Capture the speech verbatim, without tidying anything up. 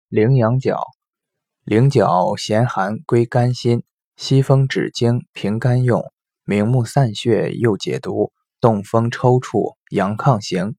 羚羊角，羚角咸寒，归肝心，西风止惊，平肝用，明目散血，又解毒，动风抽搐，阳亢行。